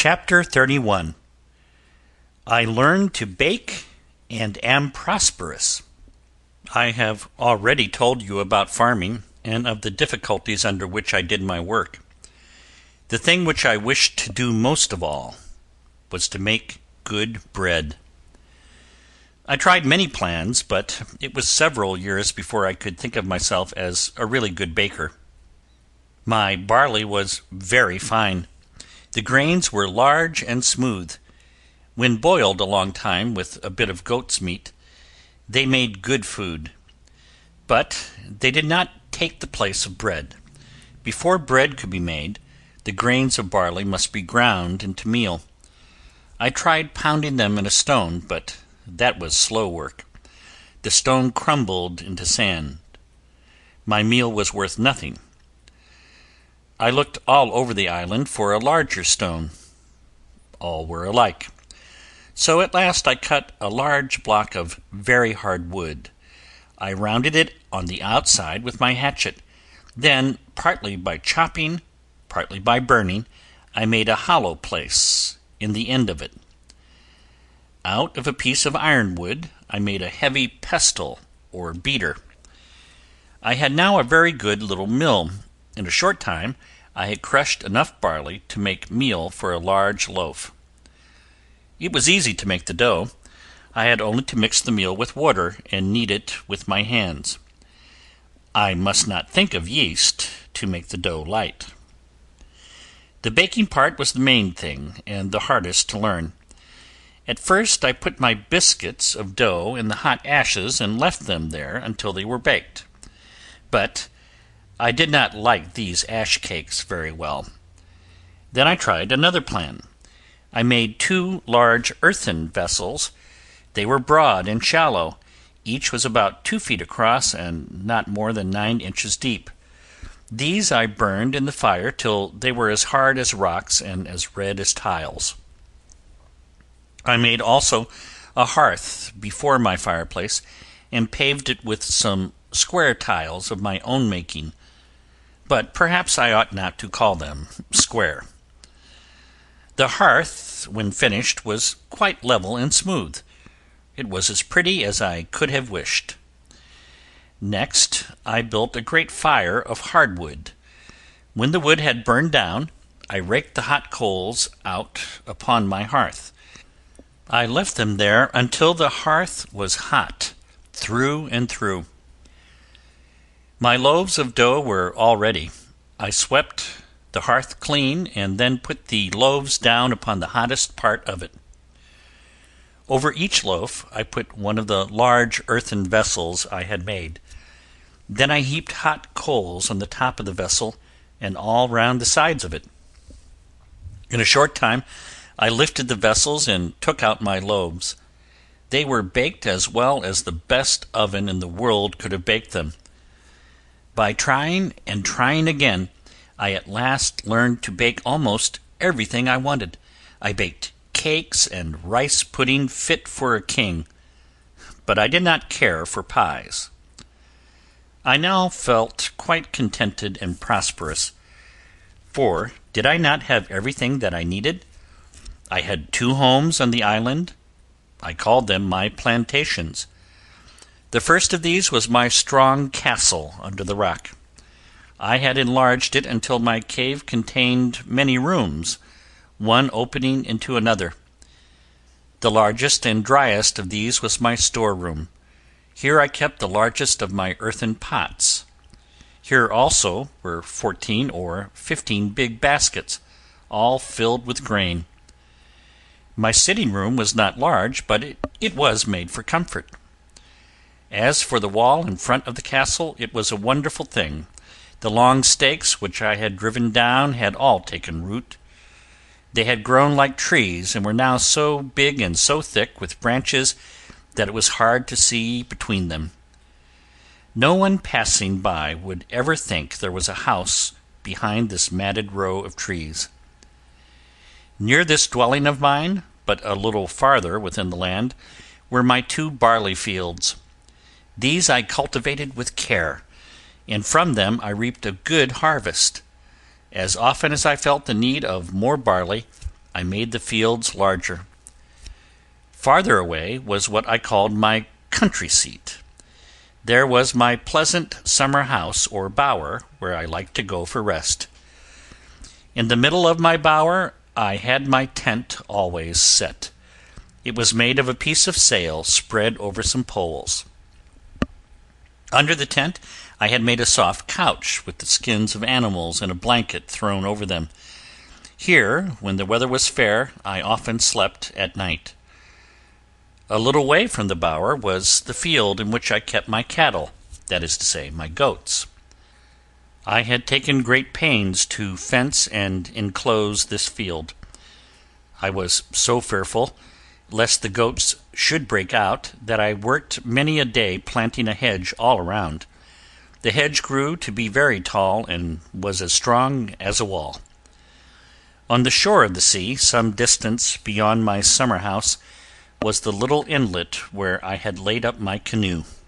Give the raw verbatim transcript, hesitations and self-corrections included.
Chapter thirty-one. I learn to bake and am prosperous. I have already told you about farming and of the difficulties under which I did my work. The thing which I wished to do most of all was to make good bread. I tried many plans, but it was several years before I could think of myself as a really good baker. My barley was very fine. The grains were large and smooth. When boiled a long time with a bit of goat's meat, they made good food. But they did not take the place of bread. Before bread could be made, the grains of barley must be ground into meal. I tried pounding them in a stone, but that was slow work. The stone crumbled into sand. My meal was worth nothing. I looked all over the island for a larger stone. All were alike. So at last I cut a large block of very hard wood. I rounded it on the outside with my hatchet. Then, partly by chopping, partly by burning, I made a hollow place in the end of it. Out of a piece of ironwood I made a heavy pestle or beater. I had now a very good little mill. In a short time I had crushed enough barley to make meal for a large loaf. It was easy to make the dough. I had only to mix the meal with water and knead it with my hands. I must not think of yeast to make the dough light. The baking part was the main thing and the hardest to learn. At first I put my biscuits of dough in the hot ashes and left them there until they were baked. But I did not like these ash cakes very well. Then I tried another plan. I made two large earthen vessels. They were broad and shallow. Each was about two feet across and not more than nine inches deep. These I burned in the fire till they were as hard as rocks and as red as tiles. I made also a hearth before my fireplace and paved it with some square tiles of my own making, but perhaps I ought not to call them square. The hearth, when finished, was quite level and smooth. It was as pretty as I could have wished. Next I built a great fire of hardwood. When the wood had burned down, I raked the hot coals out upon my hearth. I left them there until the hearth was hot through and through. My loaves of dough were all ready. I swept the hearth clean and then put the loaves down upon the hottest part of it. Over each loaf I put one of the large earthen vessels I had made. Then I heaped hot coals on the top of the vessel and all round the sides of it. In a short time I lifted the vessels and took out my loaves. They were baked as well as the best oven in the world could have baked them. By trying and trying again, I at last learned to bake almost everything I wanted. I baked cakes and rice pudding fit for a king, but I did not care for pies. I now felt quite contented and prosperous, for did I not have everything that I needed? I had two homes on the island. I called them my plantations. The first of these was my strong castle under the rock. I had enlarged it until my cave contained many rooms, one opening into another. The largest and driest of these was my storeroom. Here I kept the largest of my earthen pots. Here also were fourteen or fifteen big baskets, all filled with grain. My sitting room was not large, but it, it was made for comfort. As for the wall in front of the castle, it was a wonderful thing. The long stakes which I had driven down had all taken root. They had grown like trees, and were now so big and so thick with branches that it was hard to see between them. No one passing by would ever think there was a house behind this matted row of trees. Near this dwelling of mine, but a little farther within the land, were my two barley fields. These I cultivated with care, and from them I reaped a good harvest. As often as I felt the need of more barley, I made the fields larger. Farther away was what I called my country seat. There was my pleasant summer house or bower, where I liked to go for rest. In the middle of my bower I had my tent always set. It was made of a piece of sail spread over some poles. Under the tent I had made a soft couch with the skins of animals and a blanket thrown over them. Here, when the weather was fair, I often slept at night. A little way from the bower was the field in which I kept my cattle, that is to say, my goats. I had taken great pains to fence and enclose this field. I was so fearful lest the goats should break out that I worked many a day planting a hedge all around. The hedge grew to be very tall and was as strong as a wall. On the shore of the sea, some distance beyond my summer house, was the little inlet where I had laid up my canoe.